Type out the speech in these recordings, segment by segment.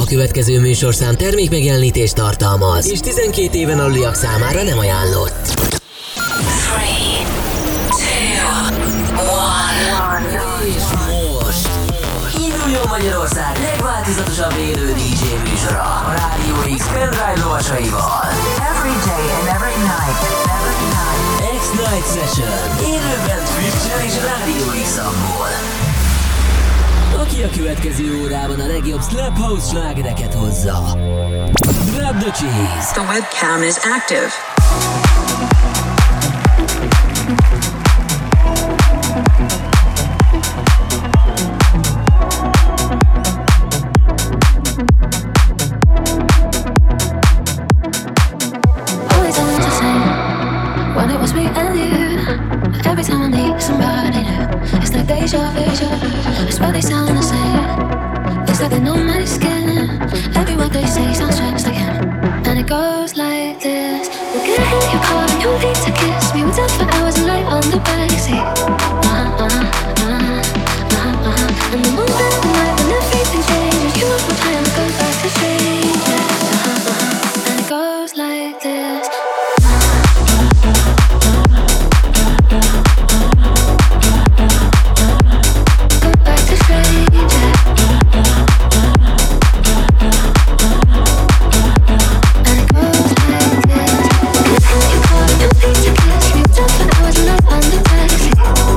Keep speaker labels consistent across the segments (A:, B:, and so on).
A: következő műsorszám termékmegjelenítést tartalmaz, és 12 éven aluliak számára nem ajánlott. 3, 2, 1. És most induljon Magyarország legváltozatosabb élő DJ műsora a Rádió X pendrive lovasaival.
B: Every day and every night.
A: X-Night Session. Élőben Twitch-en és Rádió X-amból. Aki a következő órában a legjobb Slap House slágereket hozza. Grab the cheese.
B: The webcam is active.
C: Every time I need somebody new, it's like deja vu. I swear they sound the same. It's like they know my skin. Every word they say sounds just like him. And it goes like this: we'll get in your car and you'll need to kiss me. We'll dance for hours and lay on the backseat. And the moment, the night when everything changes, you know what time to go back to strangers. And it goes like this. I was in love on the backseat.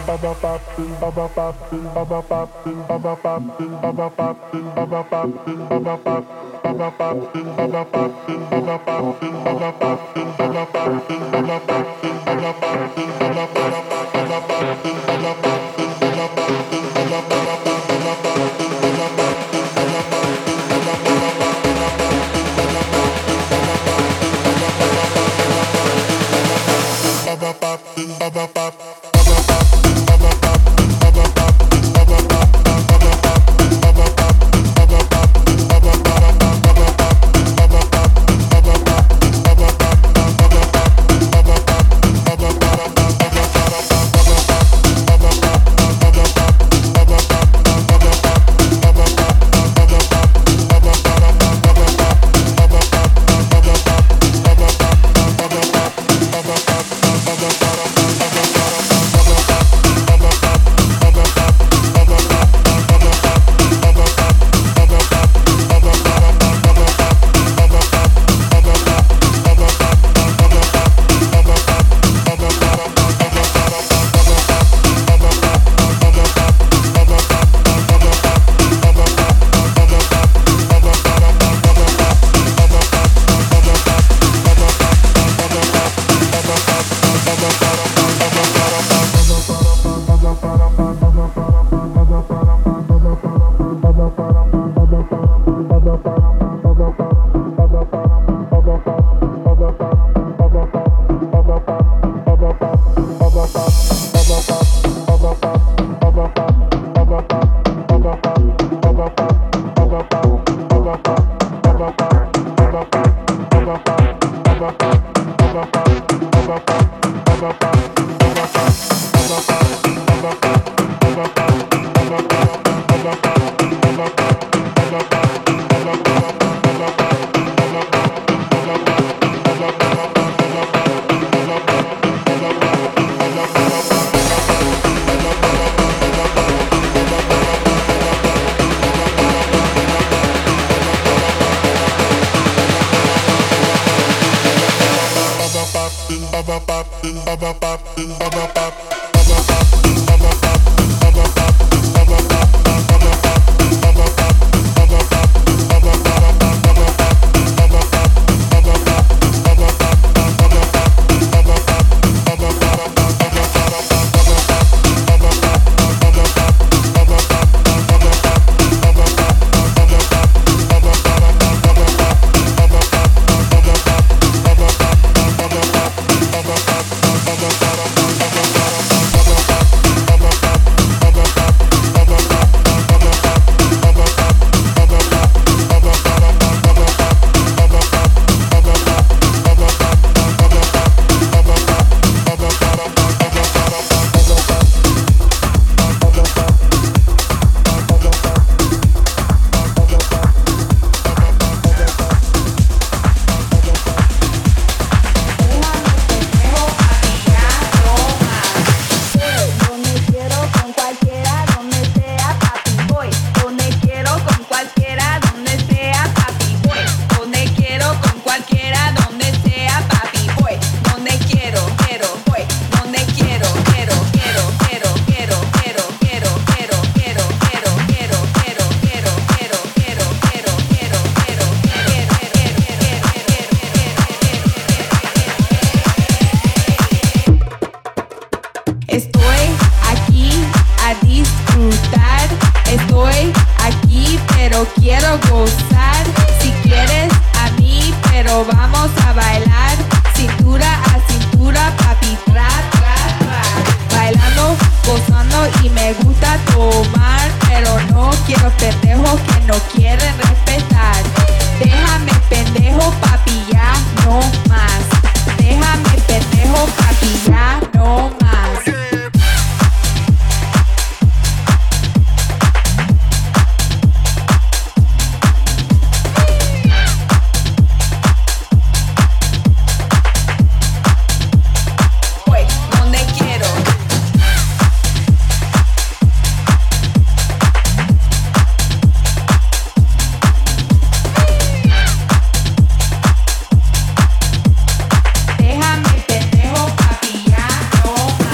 D: Déjame pendejo, papi, ya no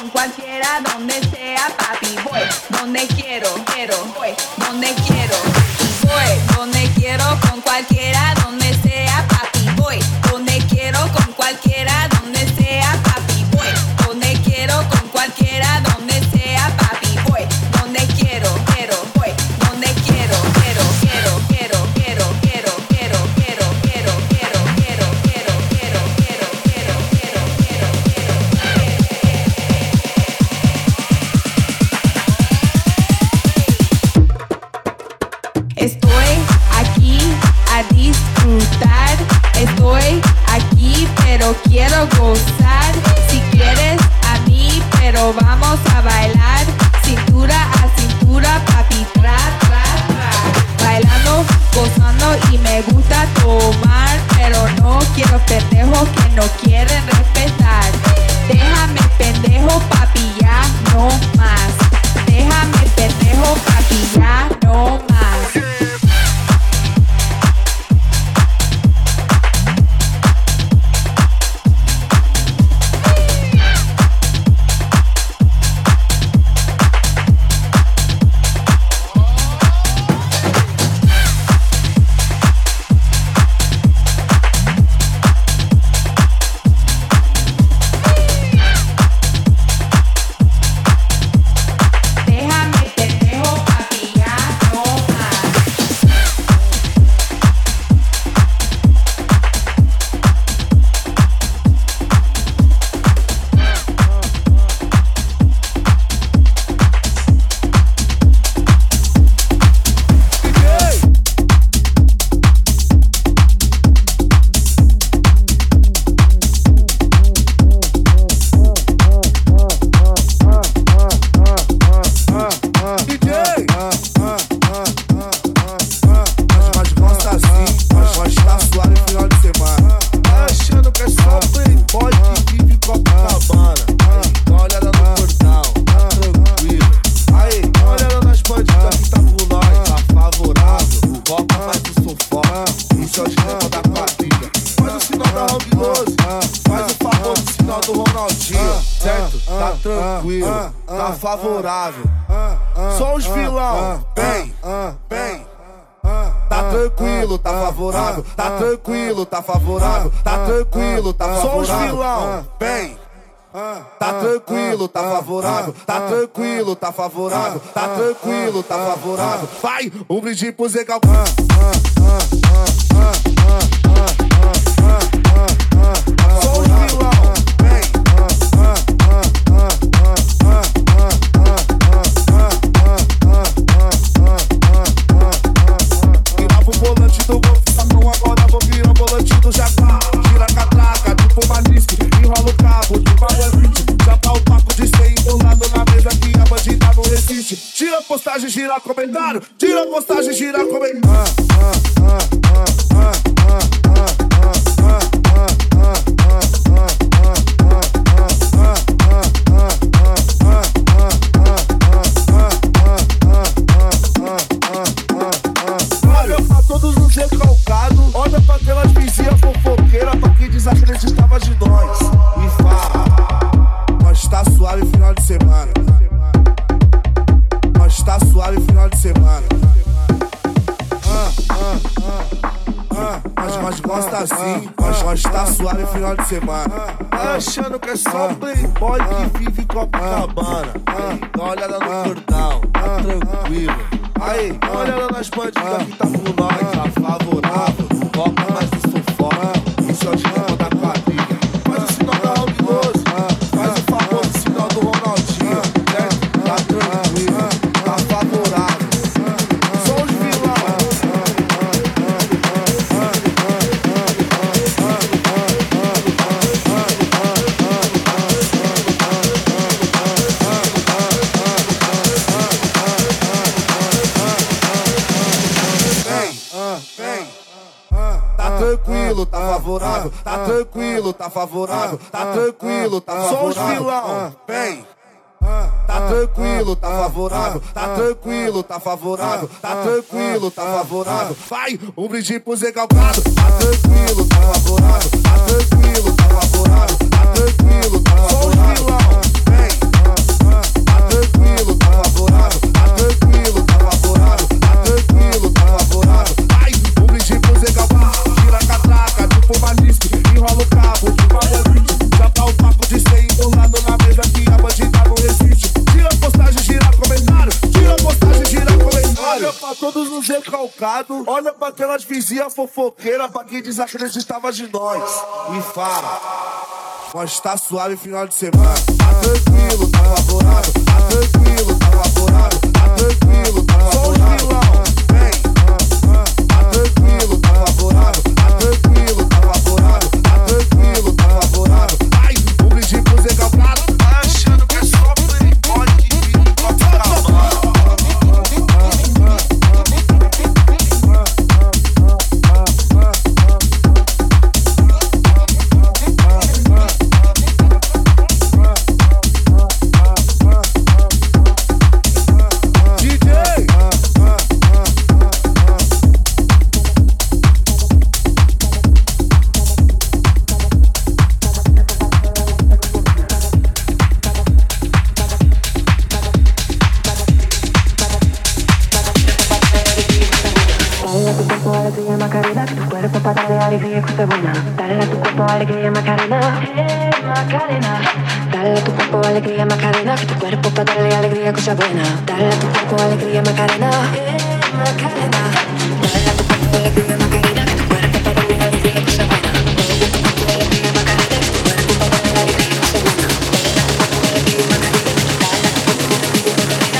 D: con cualquiera, donde sea, papi, voy, donde quiero, voy, donde quiero, voy, donde quiero, con cualquiera, donde sea, papi, voy, donde quiero, con cualquiera, donde sea, papi, voy, donde quiero, con cualquiera, donde sea, papi, voy, donde quiero, voy, donde quiero, Estoy aquí a disfrutar, estoy aquí pero quiero gozar. Si quieres a mí, pero vamos a bailar, cintura a cintura, papi, tra, tra, tra. Bailando, gozando y me gusta tomar, pero no quiero pendejos que no quieren respetar. Déjame pendejo, papi, ya no más. Déjame pendejo, papi, ya no más.
E: Favorável, só os vilão, bem, tá tranquilo, tá favorável, tá tranquilo, tá favorável, tá tranquilo, tá favorável, só os vilão, bem, tá tranquilo, tá favorável, tá tranquilo, tá favorável, tá tranquilo, tá favorável, vai, um brinde pro Zé Gal. Só os vilão. Tira postagem, gira comentário. Tira postagem, gira comentário. Olha pra todos os recalcados. Olha pra aquelas vizinhas fofoqueiras, pra quem desacreditava de nós. E fala, nós tá suave final de semana. Tá suave final de semana. Nós gosta assim. Nós tá suave final de semana. Tá achando que é só playboy que vive em Copacabana. Dá uma olhada no cordão, tá tranquilo. Aí, dá uma olhada nas bandidas que tá por nós. Tá favorável, foca mais no sufoco. Isso é o dinheiro da quadrilha. Faz o sinal da Rock 12. Faz o famoso sinal do Ronaldinho. Tá tranquilo. Favorável, só os vilão. Vem, tá tranquilo, tá favorável, tá tranquilo, tá favorável, tá tranquilo, tá favorável. Só os vilão, vem. Tá tranquilo, tá favorável, tá tranquilo, tá favorável, tá tranquilo, tá favorável. Vai, um brinde pro Zé Galgado. Tá tranquilo, tá favorável, tá tranquilo, tá favorável, tá tranquilo, tá favorável. Só os vilão, vem. todos os recalcados. Olha pra aquelas vizinhas fofoqueiras, pra quem desacreditava de nós. E fala, nós tá suave final de semana. Tá tranquilo, tá favorável. Tá tranquilo, tá favorável. Tá tranquilo, tá favorável. Só os vilão, vem. Tá tranquilo, tá favorável. Tá tranquilo, tá favorável. Tá tranquilo, tá favorável. Ai, o brinde pro Zé Galgado. Tá achando que é só playboy que vive com a caravana.
F: Alegría, cosa buena. Dale a tu cuerpo alegría, Macarena. Macarena. Dale a tu cuerpo alegría, Macarena. Que tu cuerpo para darle alegría, cosa buena. Dale a tu cuerpo alegría, Macarena. Macarena. Dale a tu cuerpo alegría, Macarena. Que tu cuerpo para darle alegría, cosa buena. Dale a tu cuerpo alegría, Macarena. Que tu cuerpo para darle alegría, cosa buena. Dale a tu cuerpo alegría, Macarena. Dale a tu cuerpo alegría, Macarena.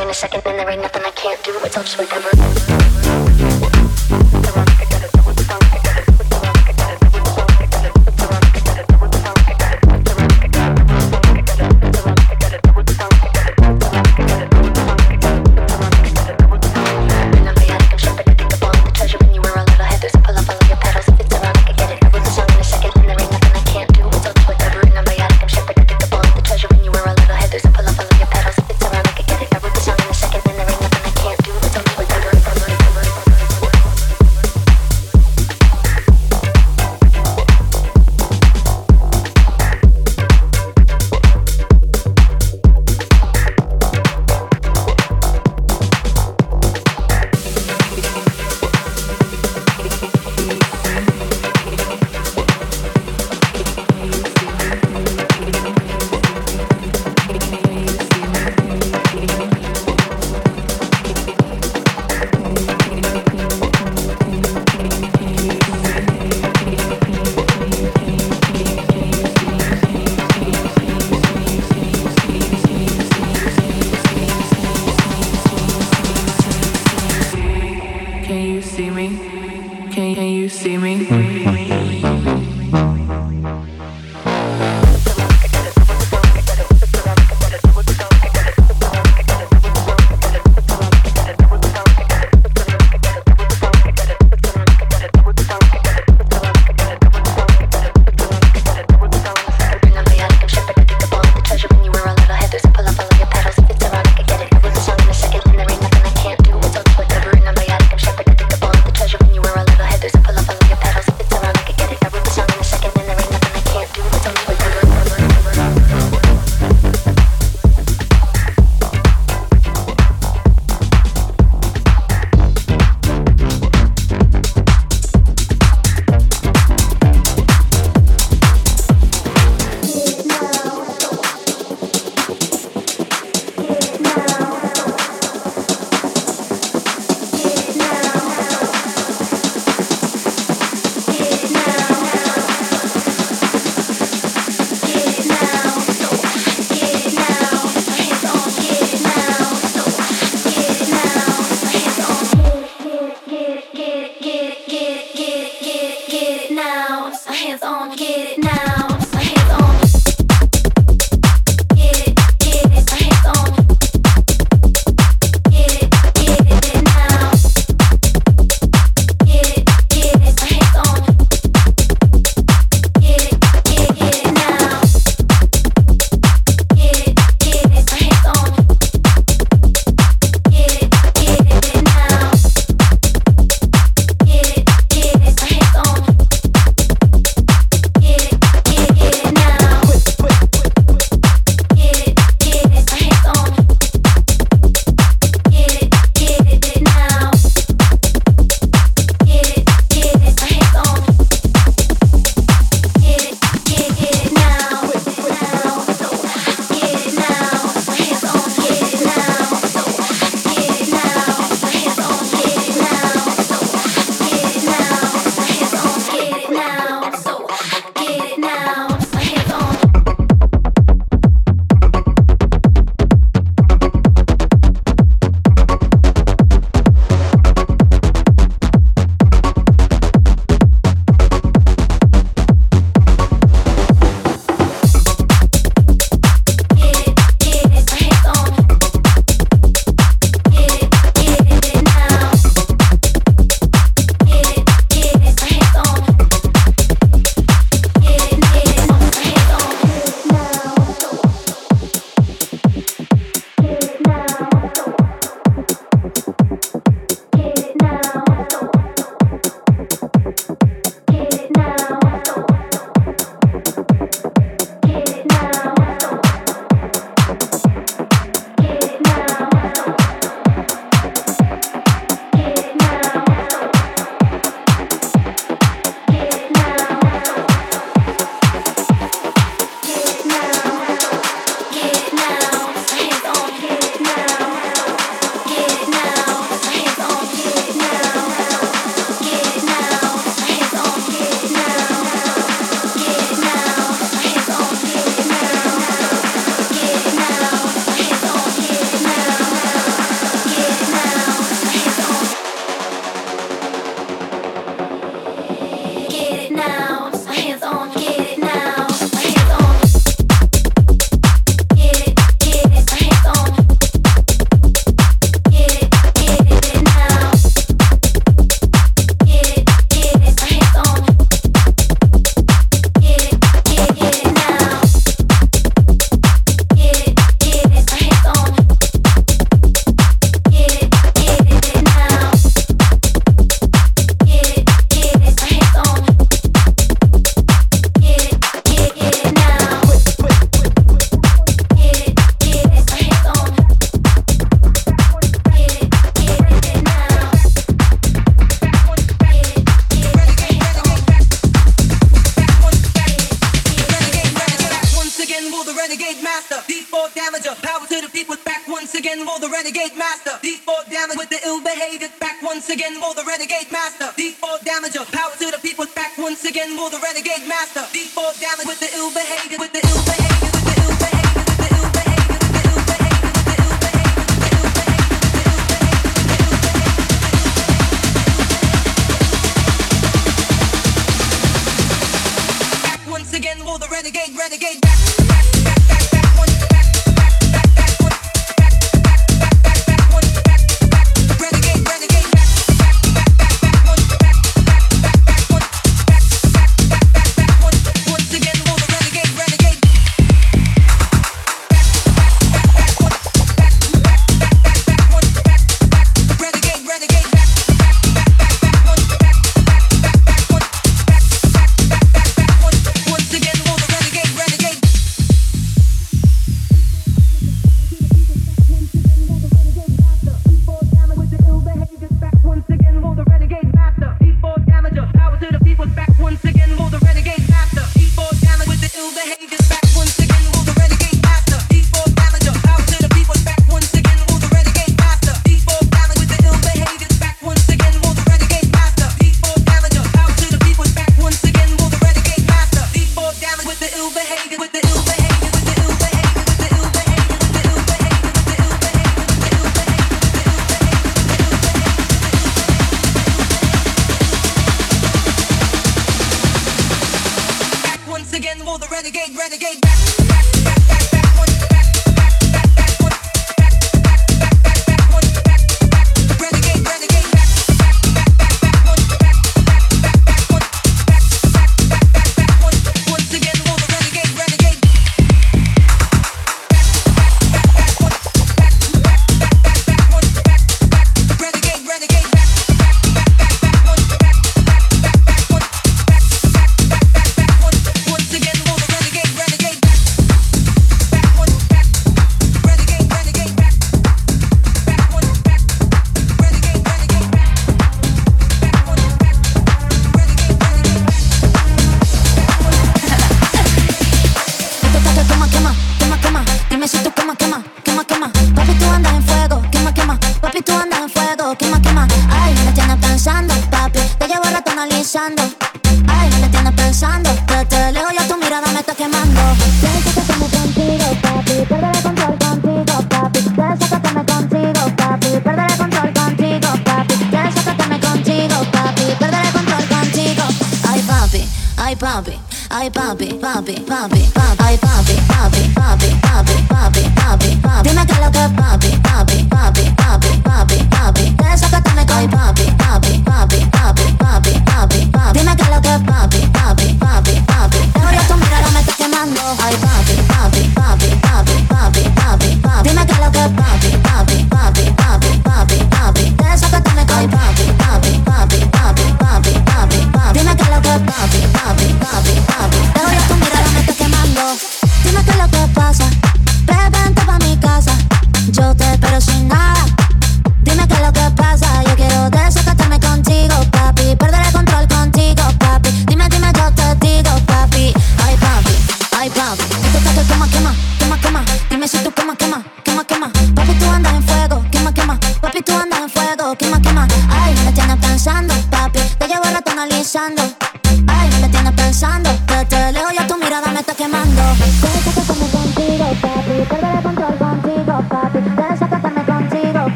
C: in a second, and there ain't nothing I can't do. It's all just whatever.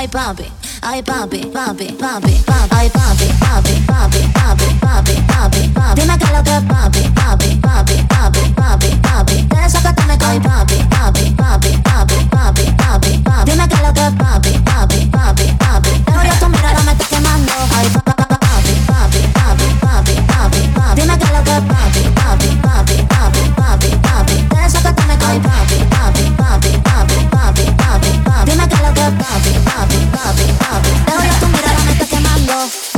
C: Ay papi, ay papi, papi, papi, papi, ay papi, papi, papi, papi, papi, papi, papi. Dime que lo que papi, papi, papi, papi, papi, papi. De eso que tú me caes, papi, papi, papi, papi, papi, papi, papi. Dime que lo que papi, papi, papi, papi. Pero ya tu mirada me está quemando. Ay papi, papi, papi, papi, papi, papi, papi. Dime que lo que papi, papi, papi, papi, papi, papi. De eso que tú me caes, papi, papi, papi, papi, papi, papi, papi. Dime que lo que papi, papi, papi, papi. Pero ya tu mirada me está quemando.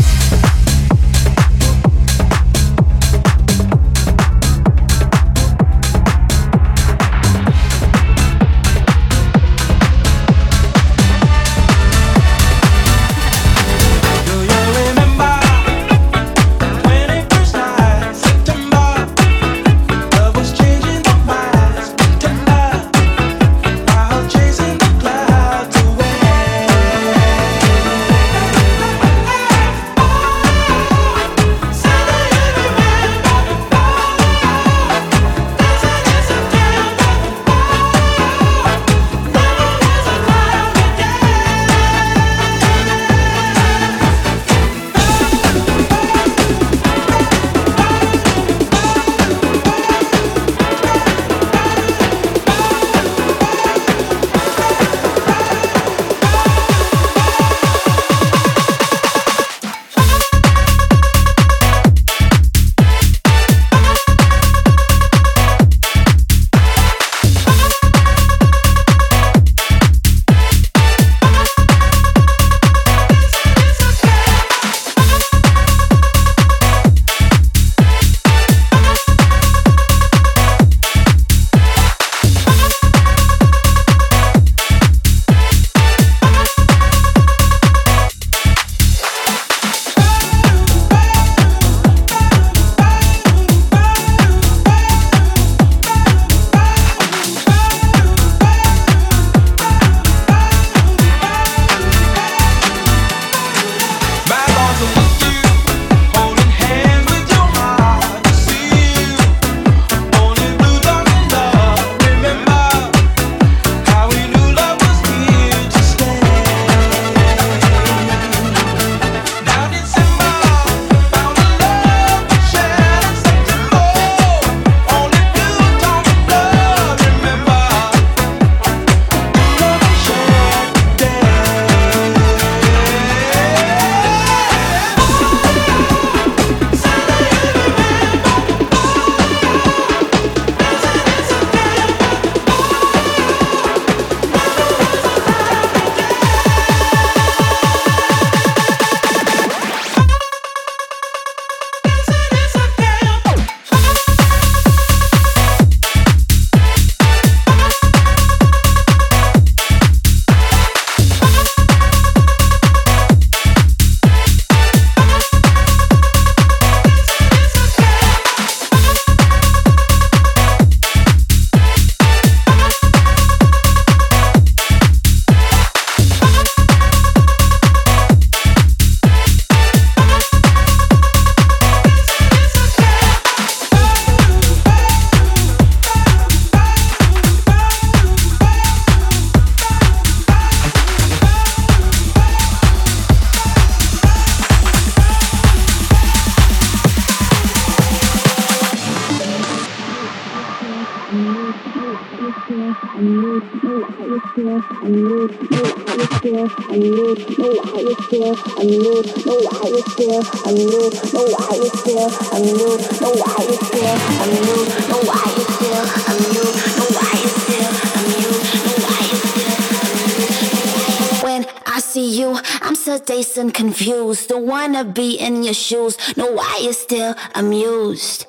C: When I see you, I'm so dazed and confused. Don't wanna be in your shoes. Know why you're still amused.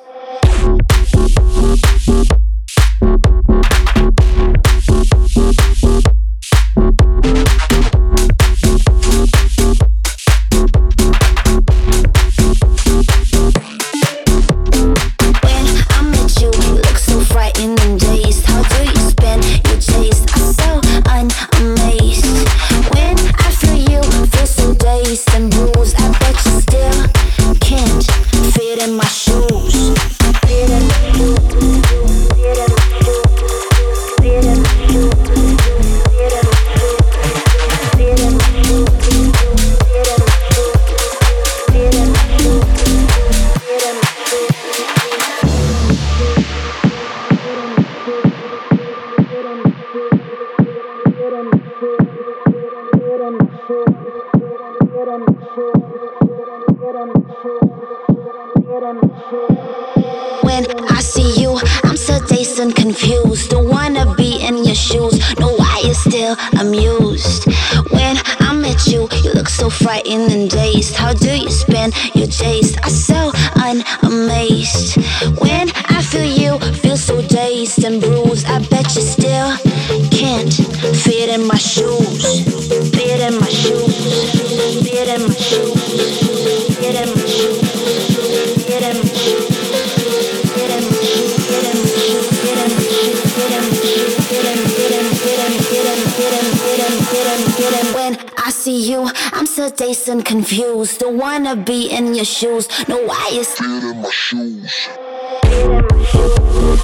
C: And bruised, I bet you still can't fit in my shoes. so frightened and dazed. How do you spin your days? I so unamazed. When I feel you, feel so dazed and bruised. I bet you still can't fit in my shoes. Fit in my shoes. Fit in my shoes. Fit in my shoes. Fit in my shoes. Fit in my shoes. Fit in my shoes. Fit in my shoes. Fit in my shoes. When I see you, I'm so dazed and confused. Don't wanna be in your shoes. No, why is fit in my shoes? Fit in my shoes.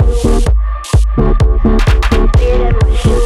C: Fit in my shoes.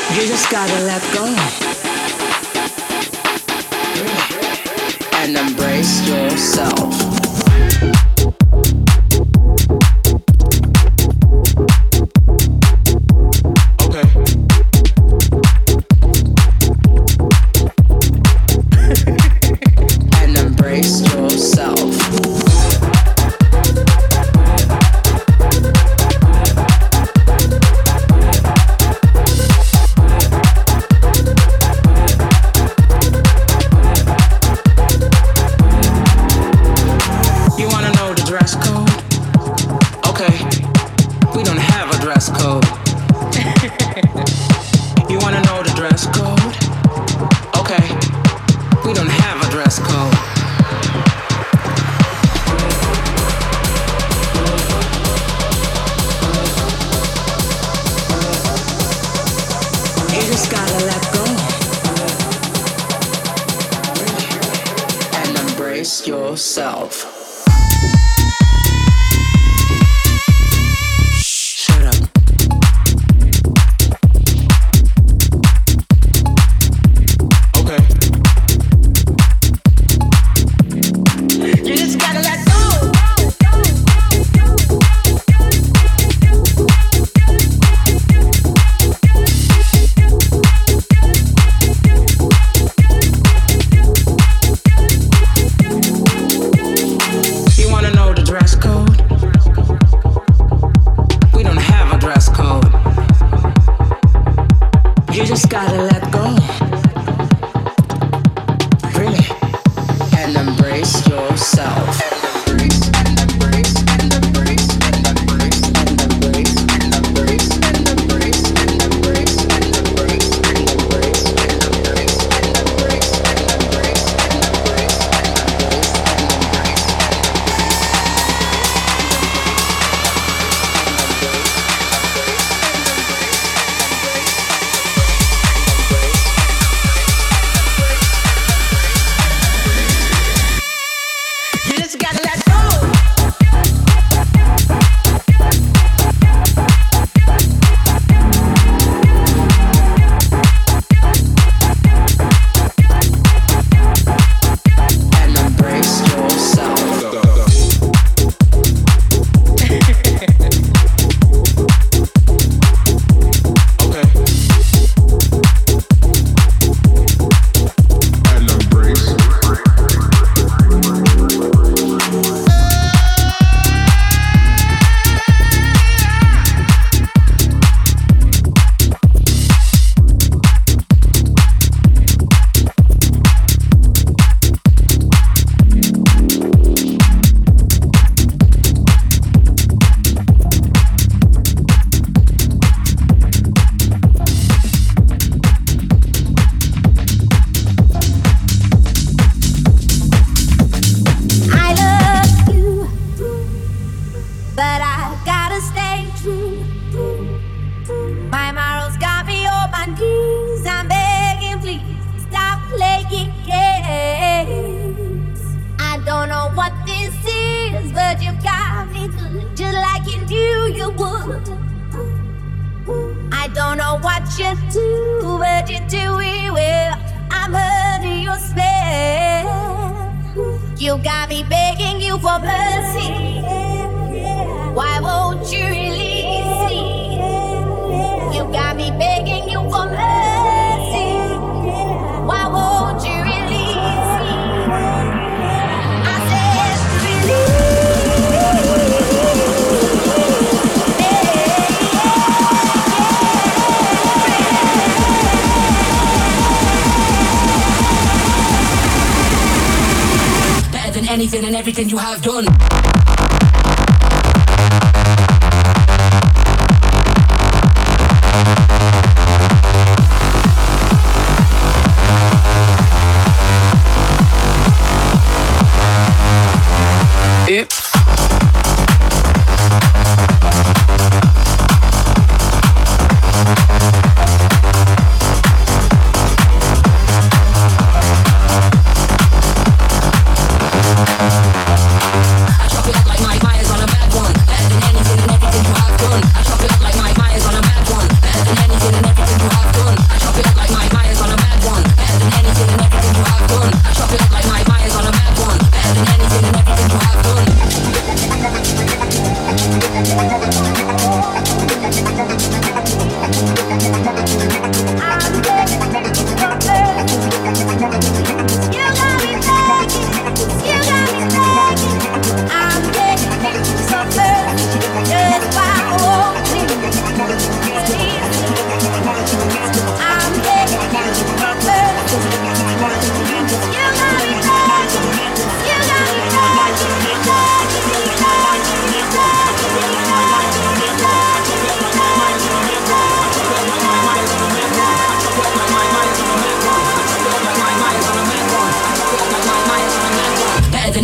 B: You just gotta let go and embrace yourself. Yourself. Shut up. Okay. You just gotta let go.
A: Anything and everything you have done.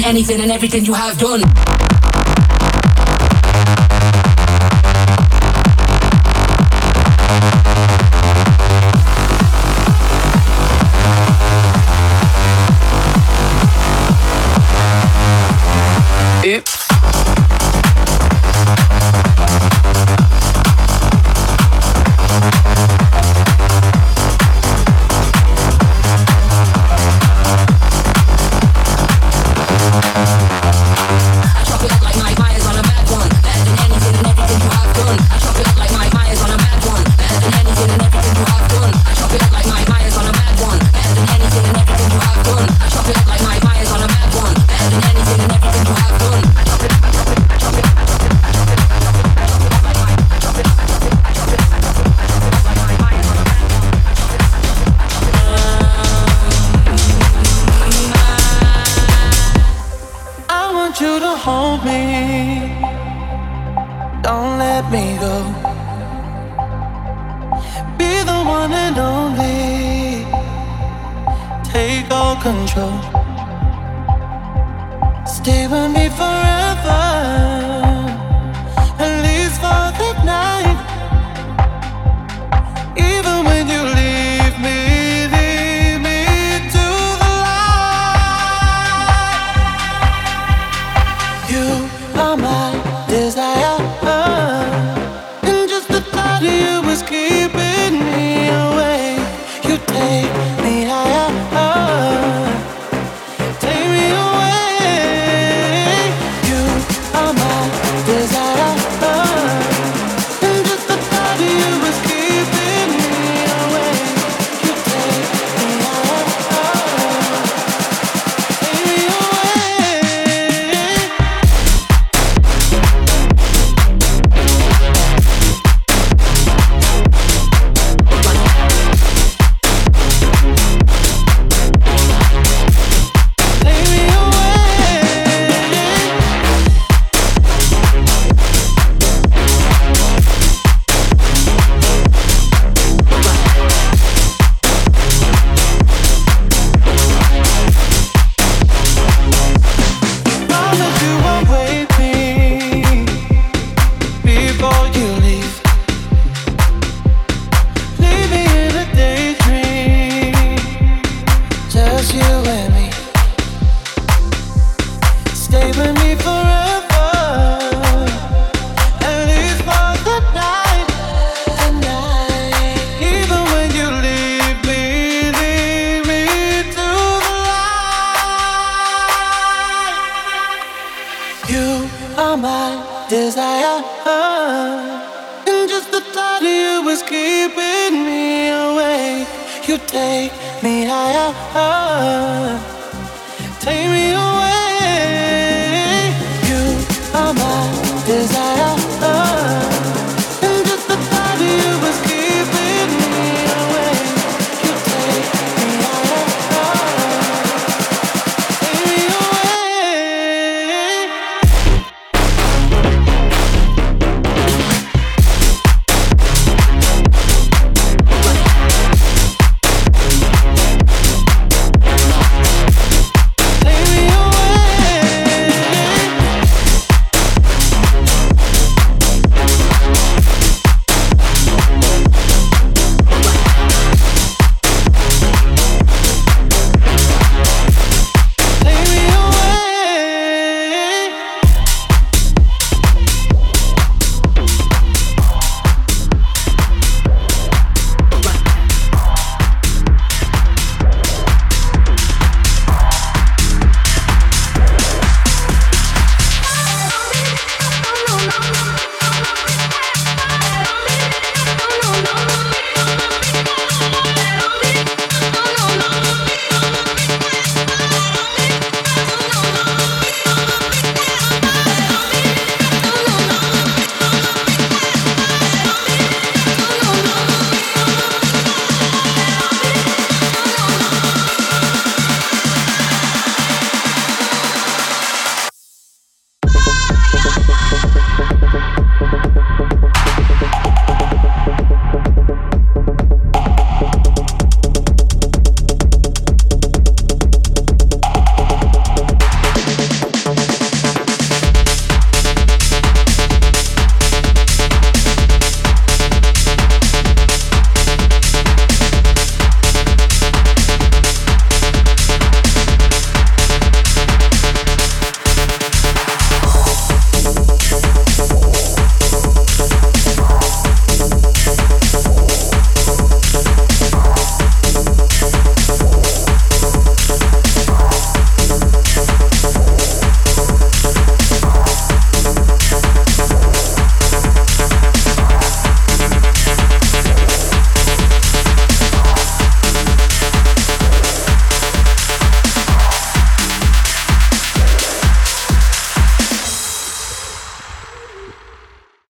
A: anything and everything you have done.
B: Oops.
G: Hold me, don't let me go. Be the one and only, take all control. Stay with me forever, at least for the night. Even when you leave me to the light. You are my desire, and just the thought of you is keeping me awake. You take me higher, take me away. You are my desire, and just the thought of you is keeping me awake. You take me higher, take me away. Desire, and just the thought of you is keeping me awake. You take me higher, take me away.